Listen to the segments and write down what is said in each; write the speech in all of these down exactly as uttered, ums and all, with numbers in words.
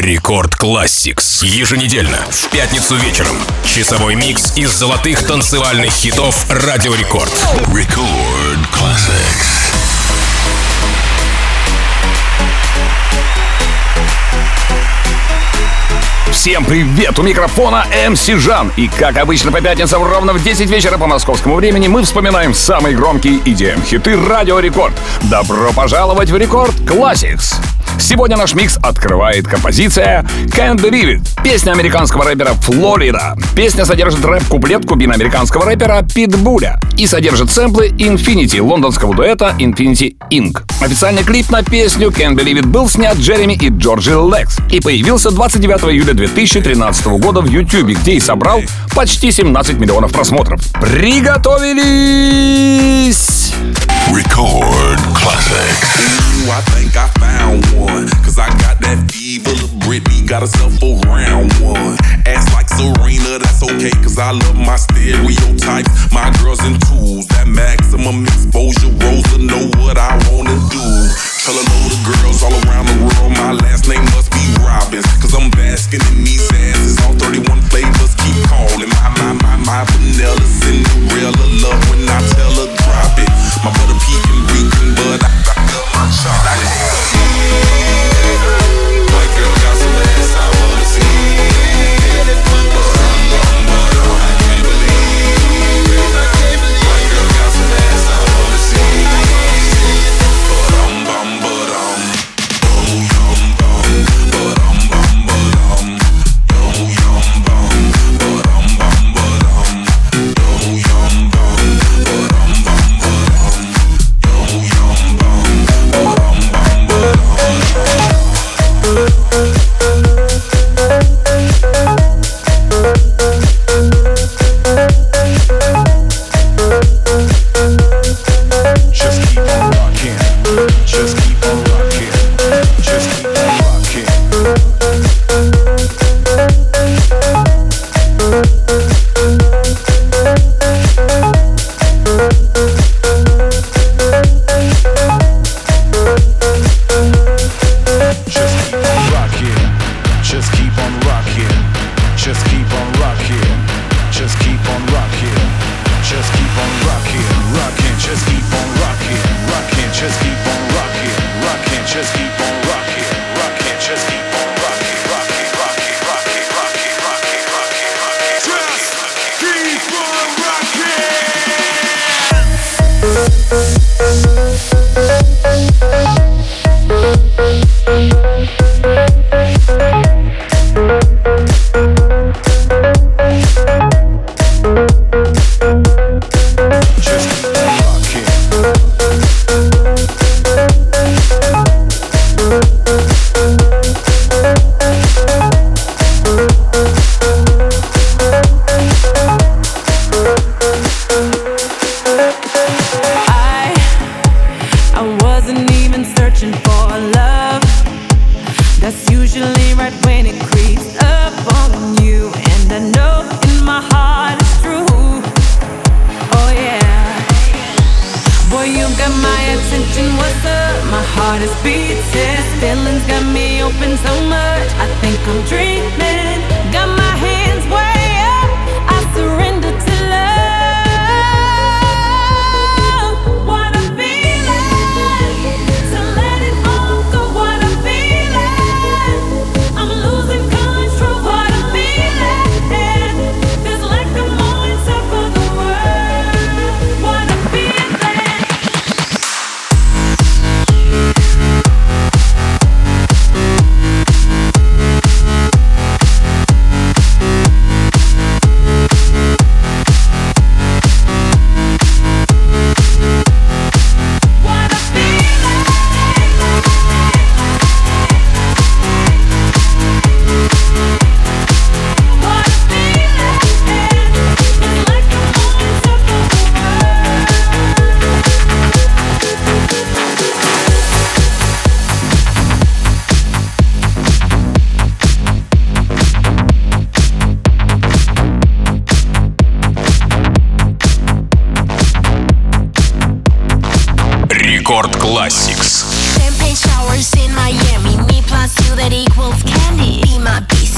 Рекорд Classics. Еженедельно, в пятницу вечером. Часовой микс из золотых танцевальных хитов Радио Рекорд. Рекорд Classics. Всем привет! У микрофона эм си Жан. И как обычно по пятницам ровно в десять вечера по московскому времени мы вспоминаем самые громкие и ди эм-хиты Радио Рекорд. Добро пожаловать в Рекорд Classics! Сегодня наш микс открывает композиция «Can't Believe It», песня американского рэпера Флорида. Песня содержит рэп-куплет кубино-американского рэпера Питбуля и содержит сэмплы Infinity лондонского дуэта Infinity инк. Официальный клип на песню «Can't Believe It» был снят Джереми и Джорджи Лекс и появился двадцать девятого июля две тысячи тринадцатого года в YouTube, где и собрал почти семнадцать миллионов просмотров. Приготовились! Record Classics. Ooh, I think I found one. Cause I got that fever of Britney, got herself a round one. Ass like Serena, that's okay, cause I love my stereotypes. My girls in tools, that maximum exposure. Rosa know what I wanna do. Tell a load of girls all around the world, my last name must be Robbins. Cause I'm basking in these asses, all thirty-one flavors keep calling. My, my, my, my vanilla Cinderella love when I tell her drop it. My butter pecan reeking, but I, I love my chocolate. My girl got some ass I wanna see. But I'm gone, but I can't believe. My girl got some ass I wanna see. But I'm bum, but I'm oh yum bum, but I'm bum, but I'm oh yum bum, but I'm bum, but I'm oh yum bum, but I'm bum, but I'm oh yum bum, but I'm bum, but I'm. Just keep on rocking, just keep on rocking, just keep on rocking. Just keep on rocking, just keep on rocking, just keep on rocking, just keep on rocking, just keep on rocking, rocking, just keep on rocking, rocking, just keep on rocking, rocking, just keep on rocking, rocking, just keep on rocking, rocking, rocking, rocking, rocking, rocking, rocking, rocking, just keep on rocking.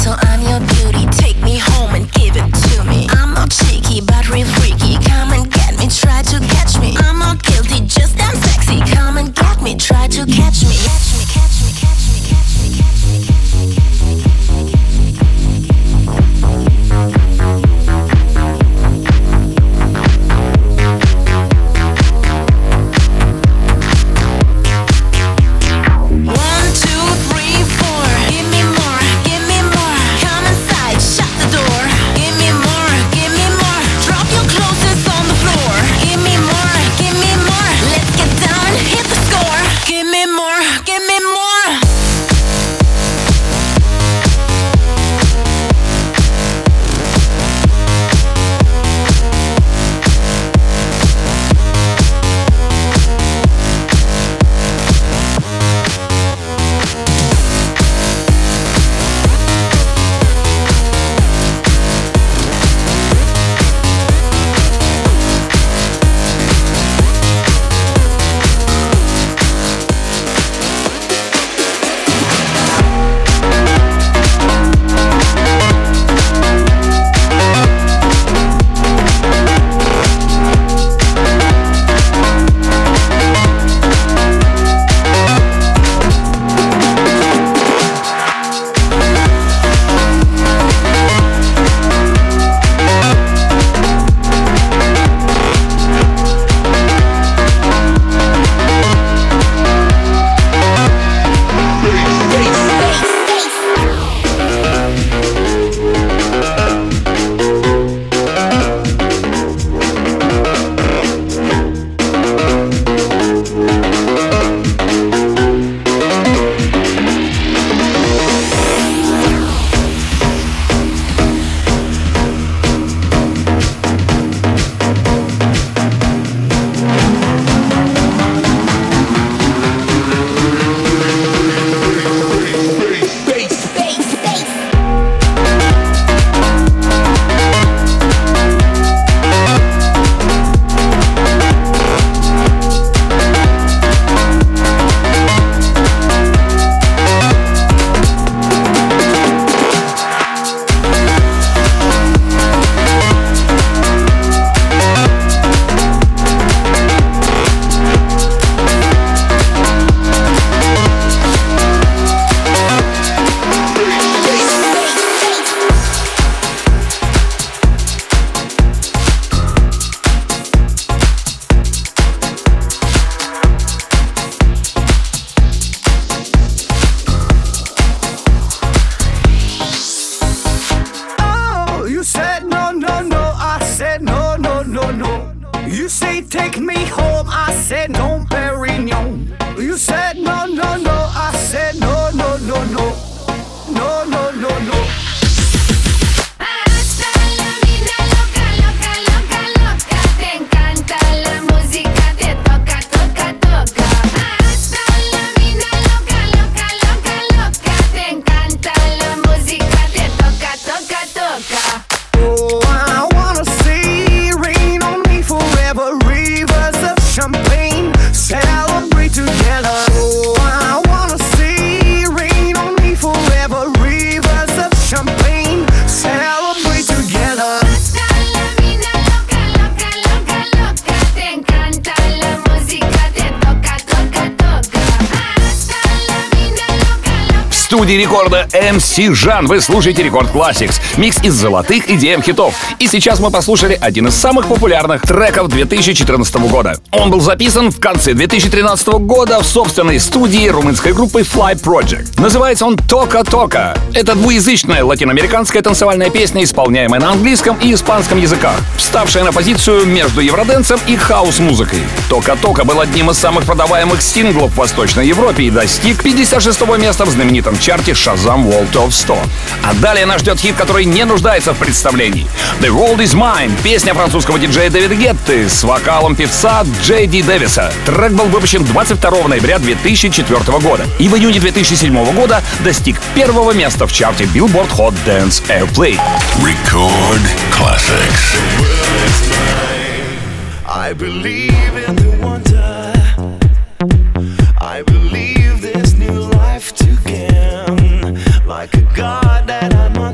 so I'm your beauty. Take me home and give it to me. I'm not cheeky, but real freaky. Come and get me, try to catch me. I'm not guilty, just damn sexy. Come and get me, try to catch me. Catch me, catch me, catch me, catch me, catch me, catch me, catch me, catch me, catch One, two, three, four. Give me more, give me more. Come inside, shut the door. Give me more, give me more. Drop your clothes on the floor. Give me more, give me more. Let's get down and hit the score. Give me more, give me more. You say take me home, I said no, Perignon. You said no, no, no, I said no, no, no, no, no, no, no, no. Hasta la vida loca, loca, loca, loca. Te encanta la música, te toca, toca, toca. Hasta la vida loca, loca, loca, loca. Te encanta la música, te toca, toca, toca. Oh, I wanna see rain on me forever, rivers of champagne, celebrate together. Oh, I wanna see rain on me forever, rivers of champagne, celebrate together. Hasta la vida loca, loca, loca, loca. Te encanta la música, te toca, toca, toca. Hasta la vida loca, loca. В студии рекорда эм си Жан вы слушаете Рекорд Classics, микс из золотых и ди эм-хитов. И сейчас мы послушали один из самых популярных треков две тысячи четырнадцатого года. Он был записан в конце две тысячи тринадцатого года в собственной студии румынской группы Fly Project. Называется он «Тока Тока». Это двуязычная латиноамериканская танцевальная песня, исполняемая на английском и испанском языках, вставшая на позицию между евроденсом и хаус-музыкой. «Тока Тока» был одним из самых продаваемых синглов в Восточной Европе и достиг пятьдесят шестого места в знаменитом чарте Shazam World Top сто. А далее нас ждет хит, который не нуждается в представлении. «The World Is Mine» — песня французского диджея Дэвида Гетты с вокалом певца Джей Ди Дэвиса. Трек был выпущен двадцать второго ноября две тысячи четвёртого года и в июне две тысячи седьмого года достиг первого места в чарте Billboard Hot Dance Airplay. Record Classics. I believe in the wonder. I believe there's new life to gain. Like a god that I know.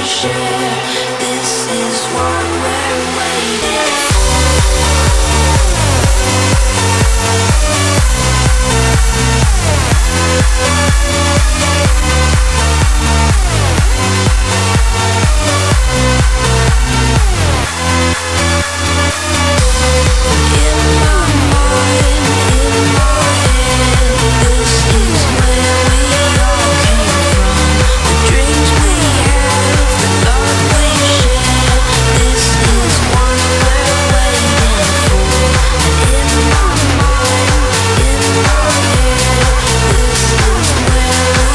Where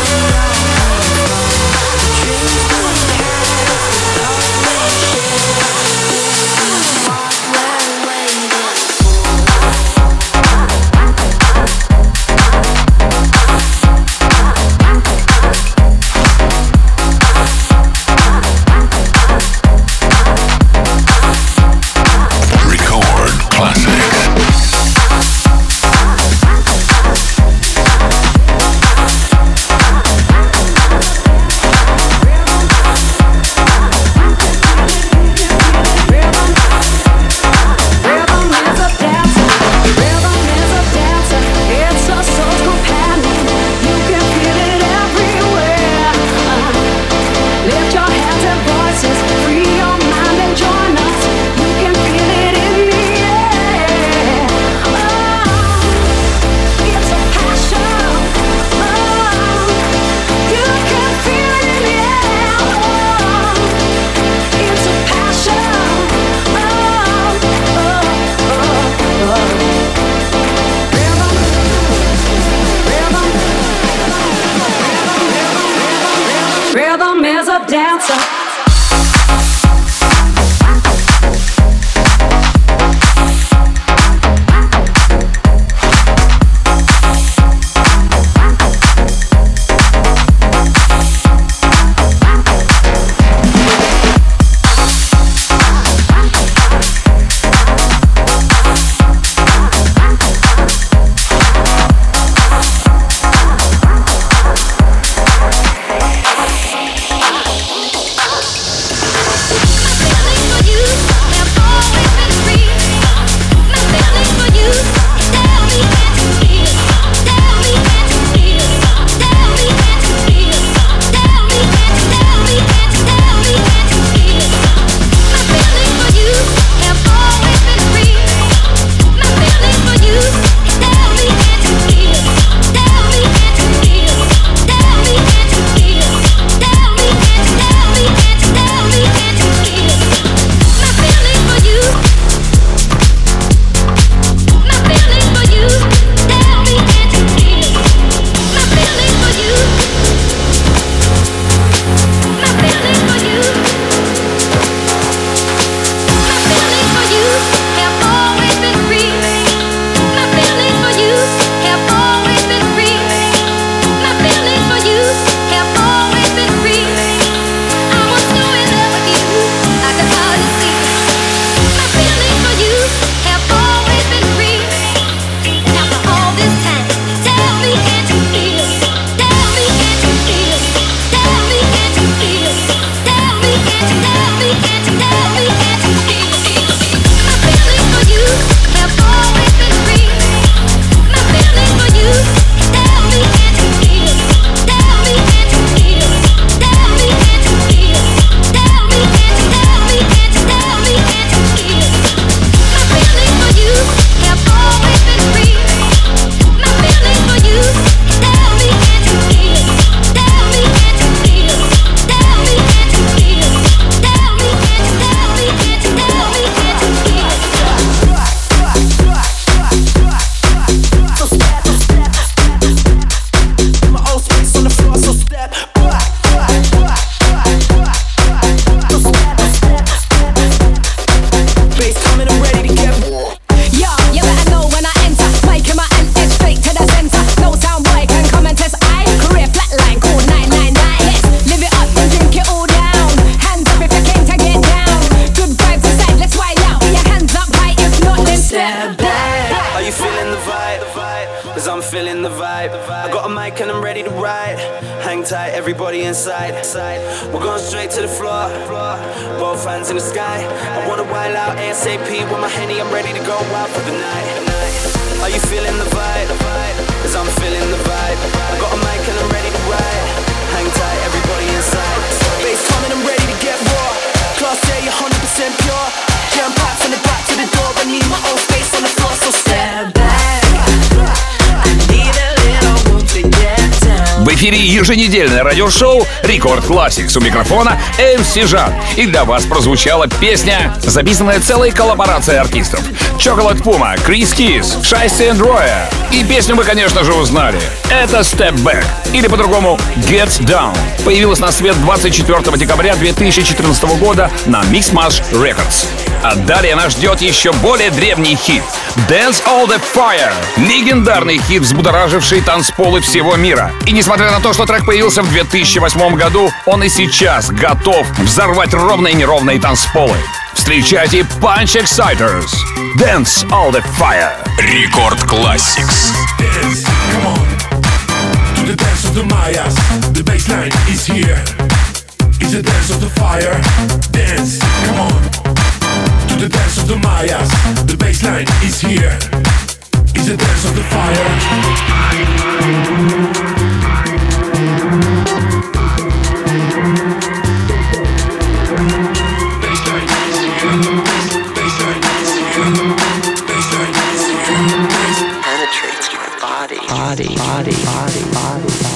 Hang tight, everybody inside. We're going straight to the floor. Both hands in the sky. I wanna wild out ASAP with my Henny. I'm ready to go out for the night. Are you feeling the vibe? Cause I'm feeling the vibe. I got a mic and I'm ready to ride. Hang tight, everybody inside. Bass coming, I'm ready to get raw. Class A, one hundred percent pure. Jam packed from the back to the door. I need my own space on the floor, so step back. I need a little room to get down. В эфире еженедельное радиошоу Рекорд Classics. У микрофона эм си Жан. И для вас прозвучала песня, записанная целой коллаборацией артистов. Chocolate Puma, Chris Keys, Shiesty and Roya. И песню вы, конечно же, узнали. Это Step Back, или по-другому Get Down. Появилась на свет двадцать четвёртого декабря две тысячи четырнадцатого года на Mixmash Records. А далее нас ждет еще более древний хит Dance All The Fire. Легендарный хит, взбудораживший танцполы всего мира. И несмотря на то, что трек появился в две тысячи восьмом году, он и сейчас готов взорвать ровные и неровные танцполы. Встречайте Punch Exciters. Dance All The Fire. Рекорд Classics. Dance, come on. To the dance of the Mayas. The bassline is here. It's a dance of the fire. Dance, come on. To the dance of the Mayas. The bassline is here. It's a dance of the fire. Penetrates your body, body, body, body, body, body.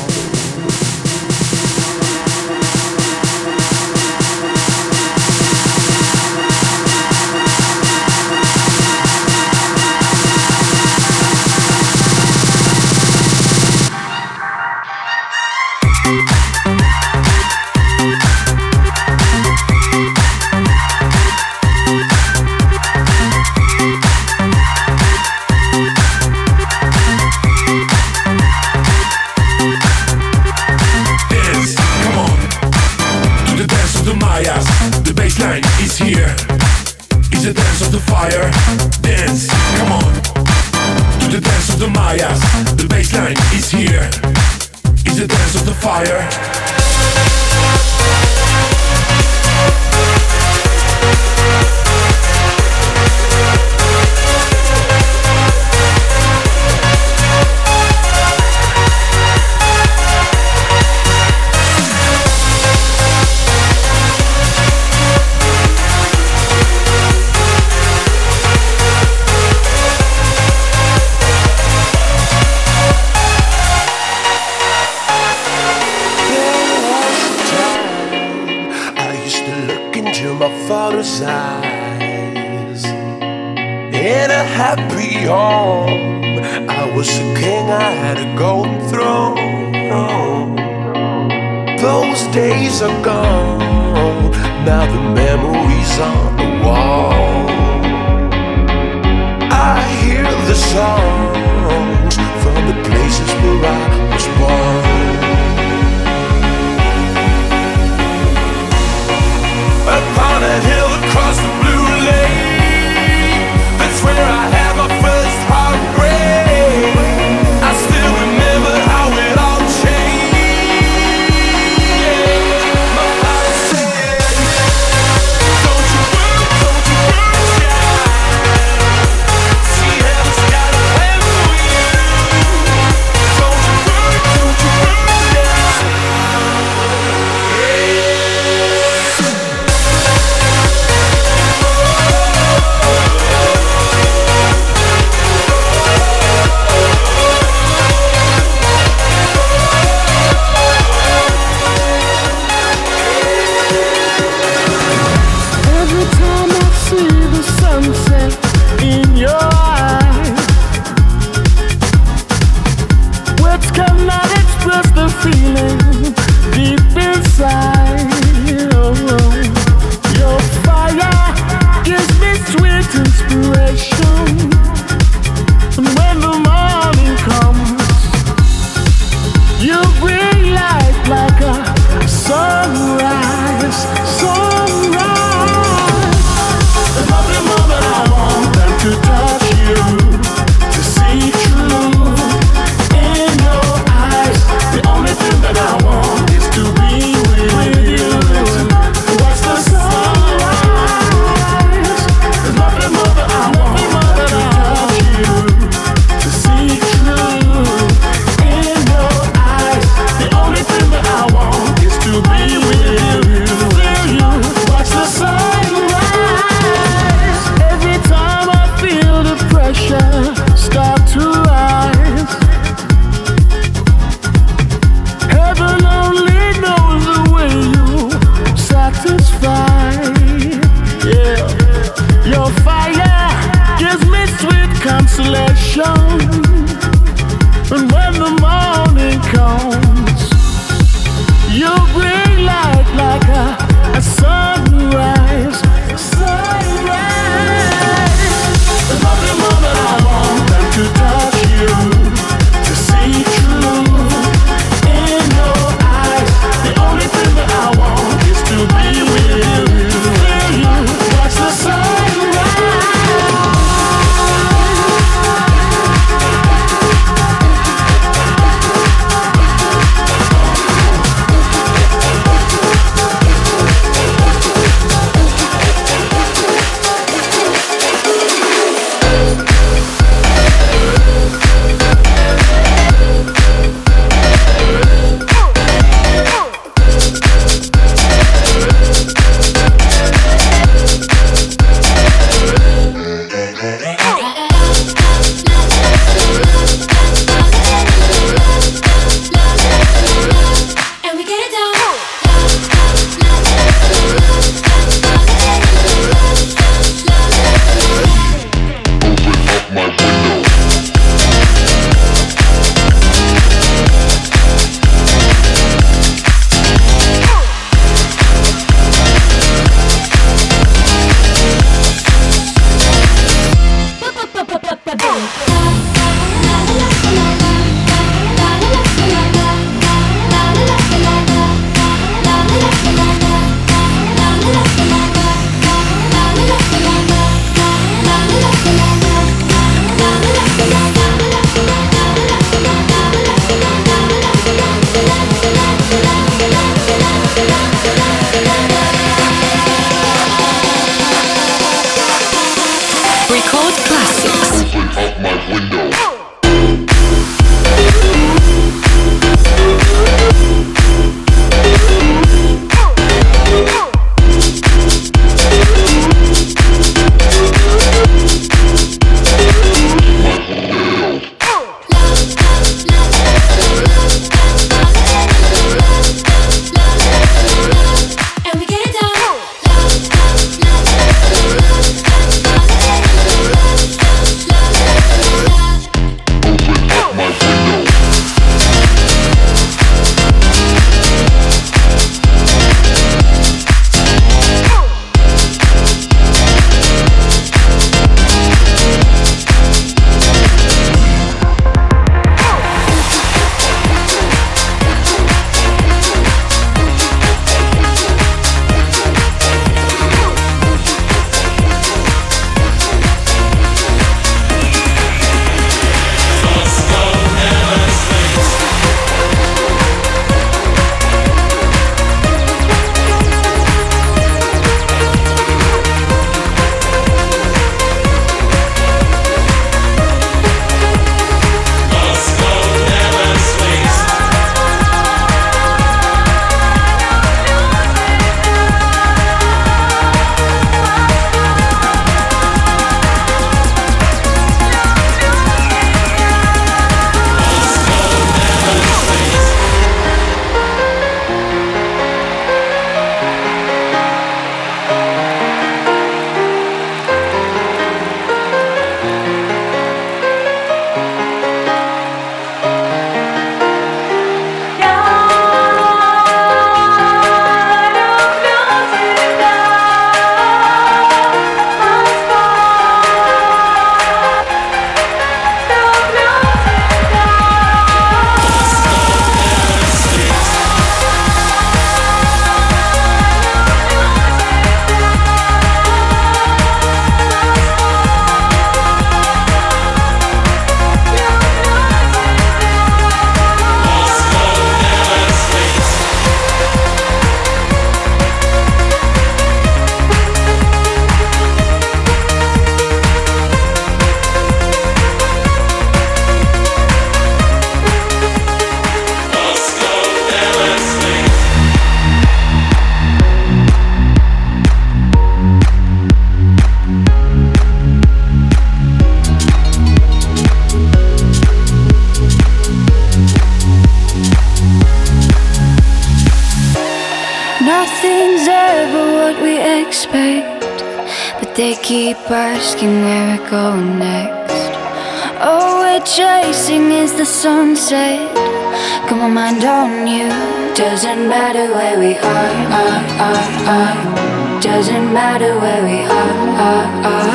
Don't you Nothing's ever what we expect, but they keep asking where we're going next. All we're chasing is the sunset. Got my mind on you. Doesn't matter where we are, are, are, are. Doesn't matter where we are, are,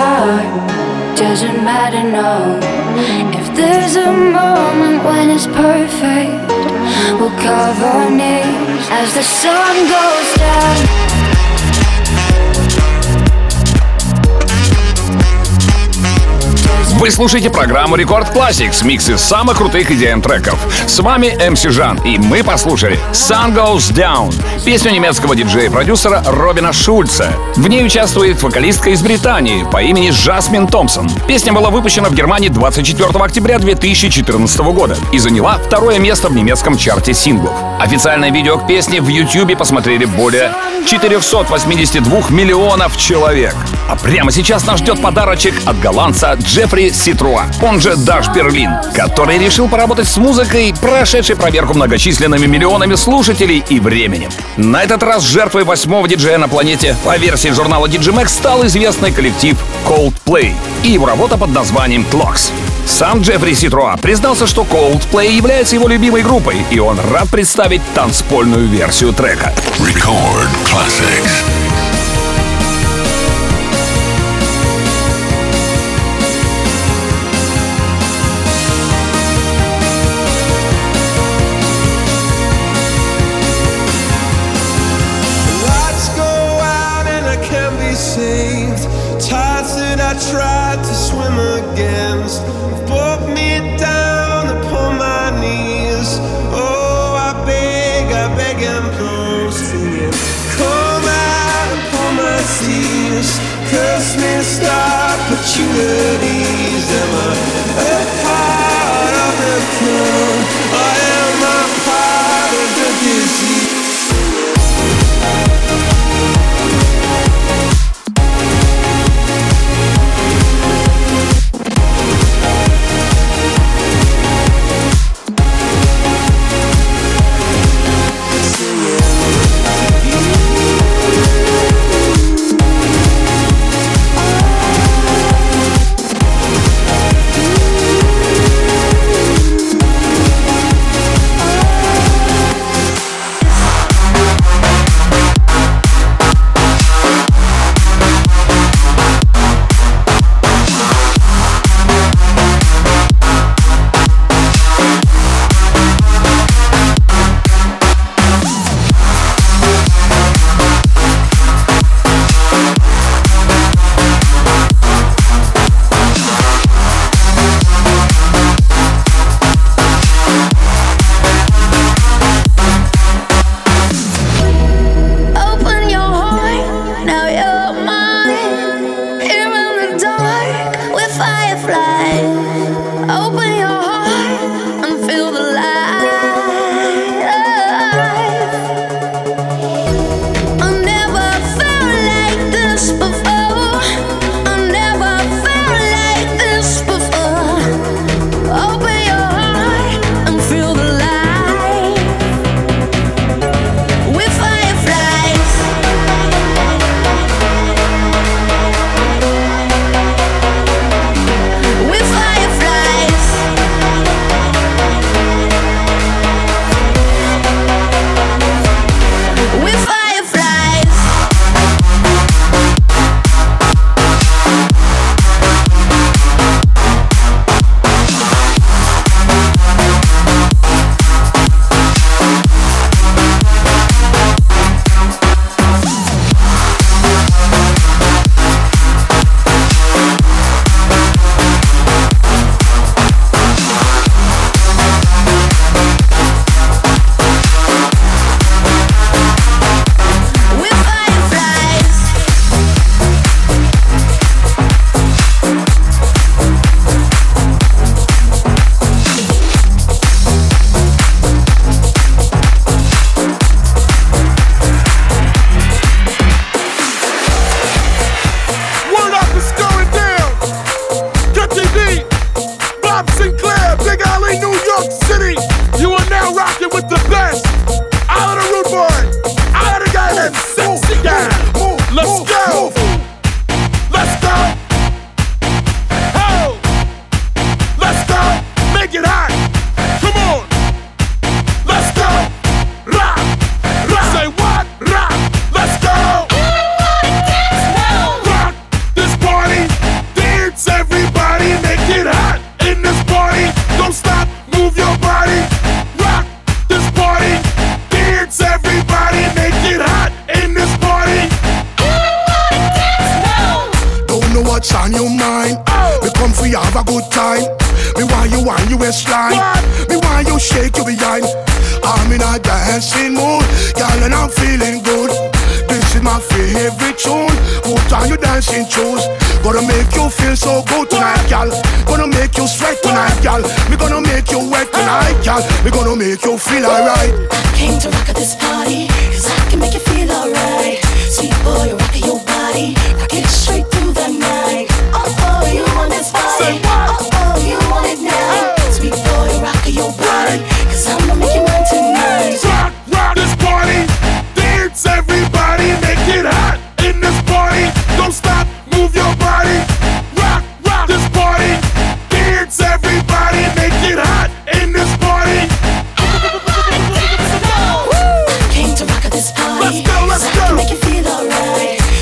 are. Doesn't matter, no. If there's a moment when it's perfect, we'll cover our knees as the sun goes down. Вы слушаете программу Рекорд Classics, микс из самых крутых и ди эм-треков. С вами эм си Жан, и мы послушали Sun Goes Down, песню немецкого диджея и продюсера Робина Шульца. В ней участвует вокалистка из Британии по имени Жасмин Томпсон. Песня была выпущена в Германии двадцать четвёртого октября две тысячи четырнадцатого года и заняла второе место в немецком чарте синглов. Официальное видео к песне в Ютьюбе посмотрели более четыреста восемьдесят два миллионов человек. А прямо сейчас нас ждет подарочек от голландца Джеффри Ситруа, он же Даш Берлин, который решил поработать с музыкой, прошедшей проверку многочисленными миллионами слушателей и временем. На этот раз жертвой восьмого диджея на планете по версии журнала ди джей Mag стал известный коллектив Coldplay и его работа под названием Clocks. Сам Джеффри Ситруа признался, что Coldplay является его любимой группой, и он рад представить танцпольную версию трека. Record Classics. Tried to swim against, brought me down upon my knees. Oh, I beg, I beg and plead, singing, come out upon my seas, curse me, star opportunities. Am I what's on your mind. We come for you have a good time. Me want you on your waistline. Me want you shake your behind. I'm in a dancing mood, girl, and I'm feeling good. This is my favorite tune. Put on your dancing shoes. Gonna make you feel so good tonight, girl. Gonna make you sweat tonight, girl. We gonna make you wet tonight, girl. We gonna make you feel alright. I came to rock at this party, cause I can make you feel alright. Sweet boy, rockin' your body, rock it straight through the night. Oh oh, you want this body? Oh oh, you want it now? Sweet boy, rockin' your body, cause I'ma make you mine tonight. Rock, rock this party. Dance, everybody, make it hot in this party. Don't stop, move your body. Rock, rock this party. Dance, everybody, make it hot in this party. Came to rock at this party. Let's go, let's so go. I can make you feel alright.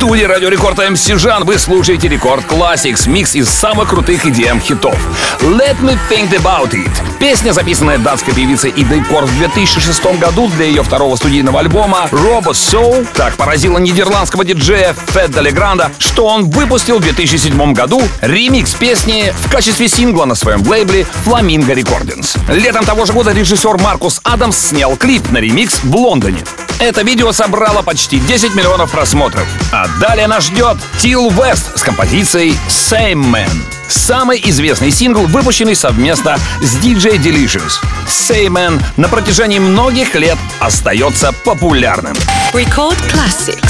студии Радио Рекорд эм си Жан. Вы слушаете Рекорд Classics, микс из самых крутых и ди эм-хитов. Let Me Think About It. Песня, записанная датской певицей Идой Корф в две тысячи шестом году для ее второго студийного альбома Robo Soul, так поразила нидерландского диджея Федда Легранда, что он выпустил в две тысячи седьмом году ремикс песни в качестве сингла на своем лейбле Flamingo Recordings. Летом того же года режиссер Маркус Адамс снял клип на ремикс в Лондоне. Это видео собрало почти десять миллионов просмотров. А далее нас ждет Till West с композицией Same Man. Самый известный сингл, выпущенный совместно с диджей Delicious. Same Man на протяжении многих лет остается популярным. Record Classics.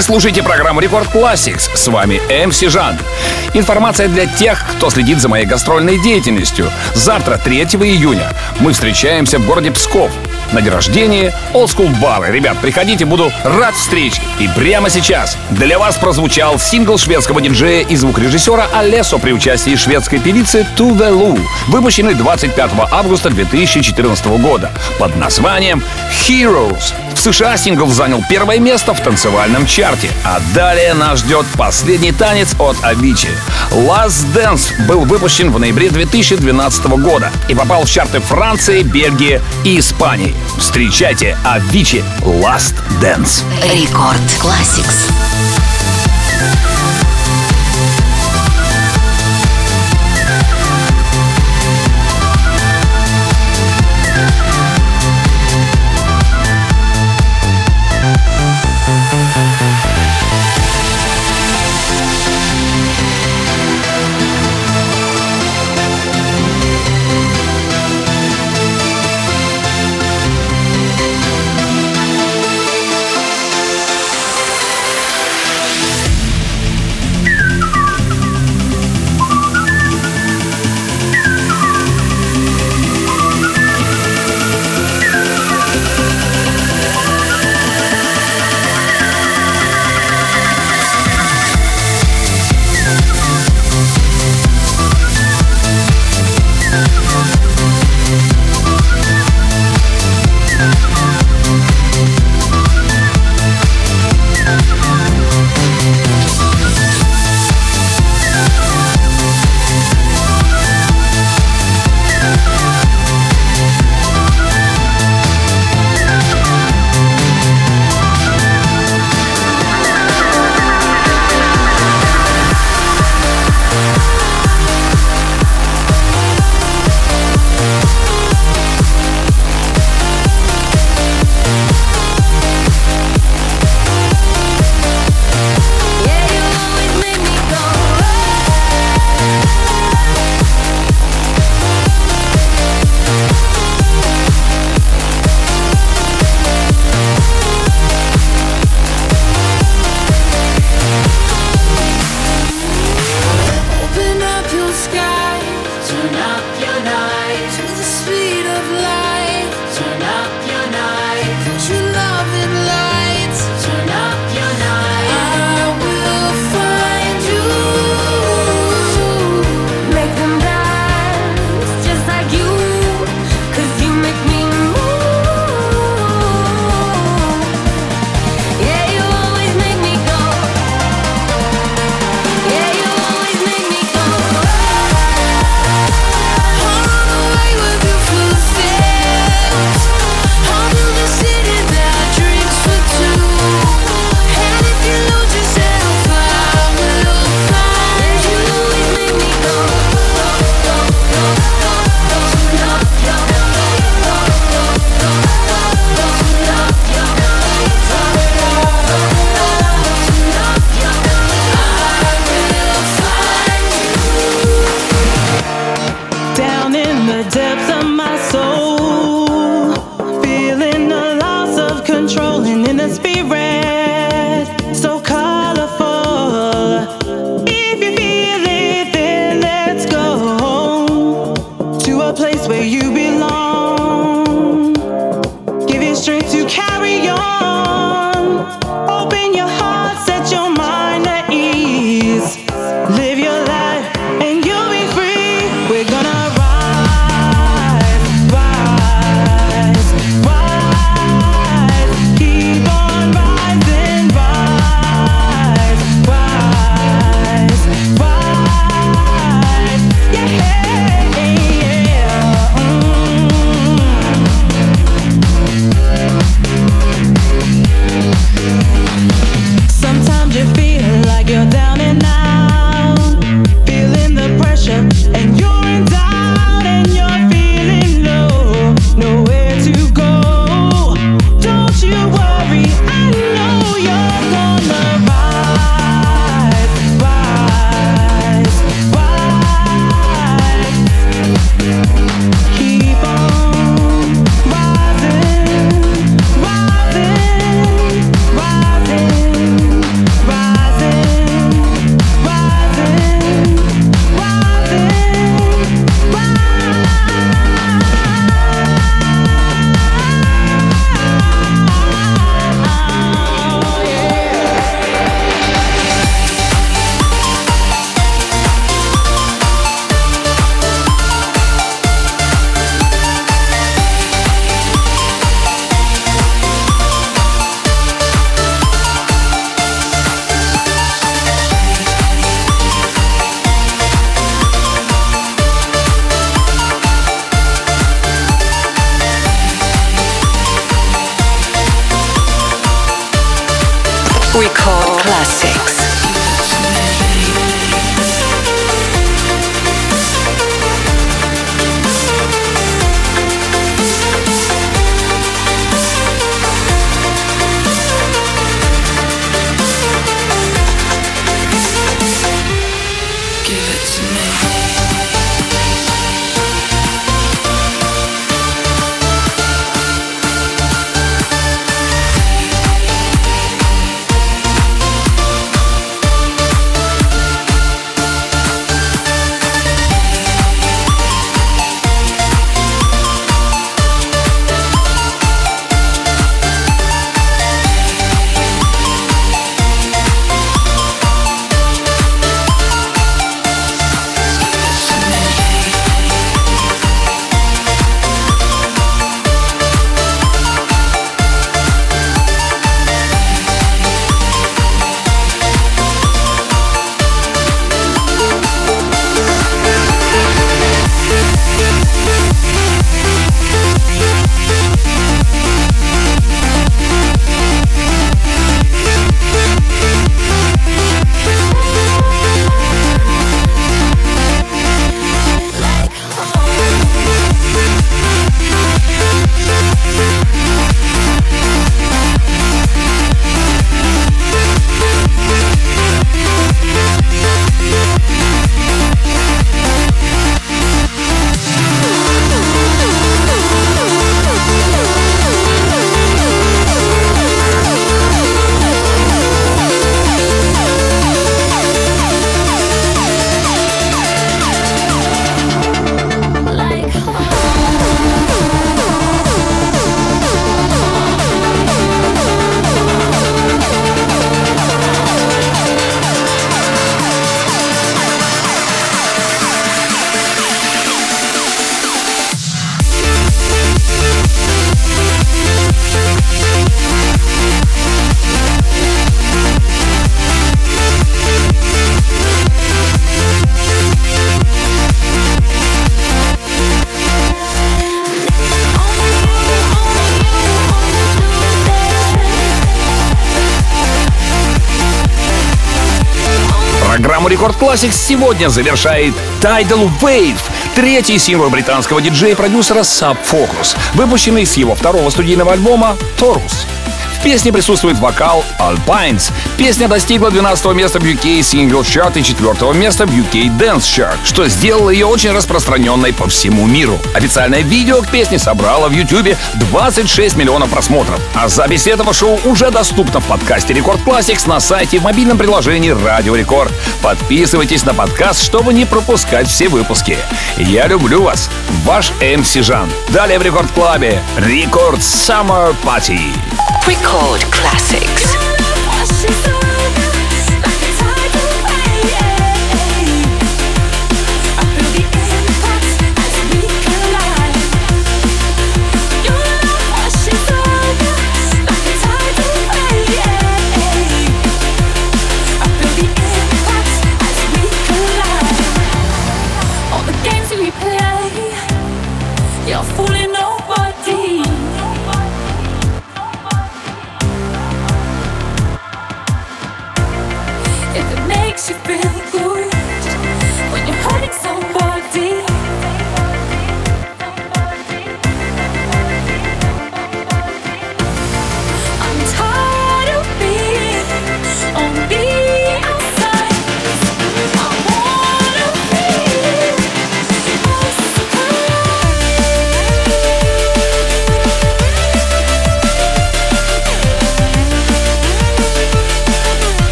Вы слушаете программу Рекорд Classics. С вами эм си Жан. Информация для тех, кто следит за моей гастрольной деятельностью. Завтра, третьего июня, мы встречаемся в городе Псков на день рождения Old School Bar. Ребят, приходите, буду рад встрече. И прямо сейчас для вас прозвучал сингл шведского диджея и звукорежиссера Алессо при участии шведской певицы Tove Lo, выпущенный двадцать пятого августа две тысячи четырнадцатого года под названием Heroes. В США сингл занял первое место в танцевальном чарте. А далее нас ждет последний танец от Avicii. Last Dance был выпущен в ноябре две тысячи двенадцатого года и попал в чарты Франции, Бельгии и Испании. Встречайте Avicii Last Dance. Рекорд Classics. Record Classics. Программу Рекорд Classics сегодня завершает Tidal Wave, третий сингл британского диджея и продюсера Sub Focus, выпущенный с его второго студийного альбома Taurus. В песне присутствует вокал Alpines. Песня достигла двенадцатого места в ю кей Singles Chart и четвертого места в ю кей Dance Chart, что сделало ее очень распространенной по всему миру. Официальное видео к песне собрало в YouTube двадцать шесть миллионов просмотров. А запись этого шоу уже доступна в подкасте Record Classics на сайте и в мобильном приложении Радио Рекорд. Подписывайтесь на подкаст, чтобы не пропускать все выпуски. Я люблю вас. Ваш эм си Жан. Далее в Рекорд Клабе Record Summer Party. Record Classics. You're fooling nobody. If it makes you feel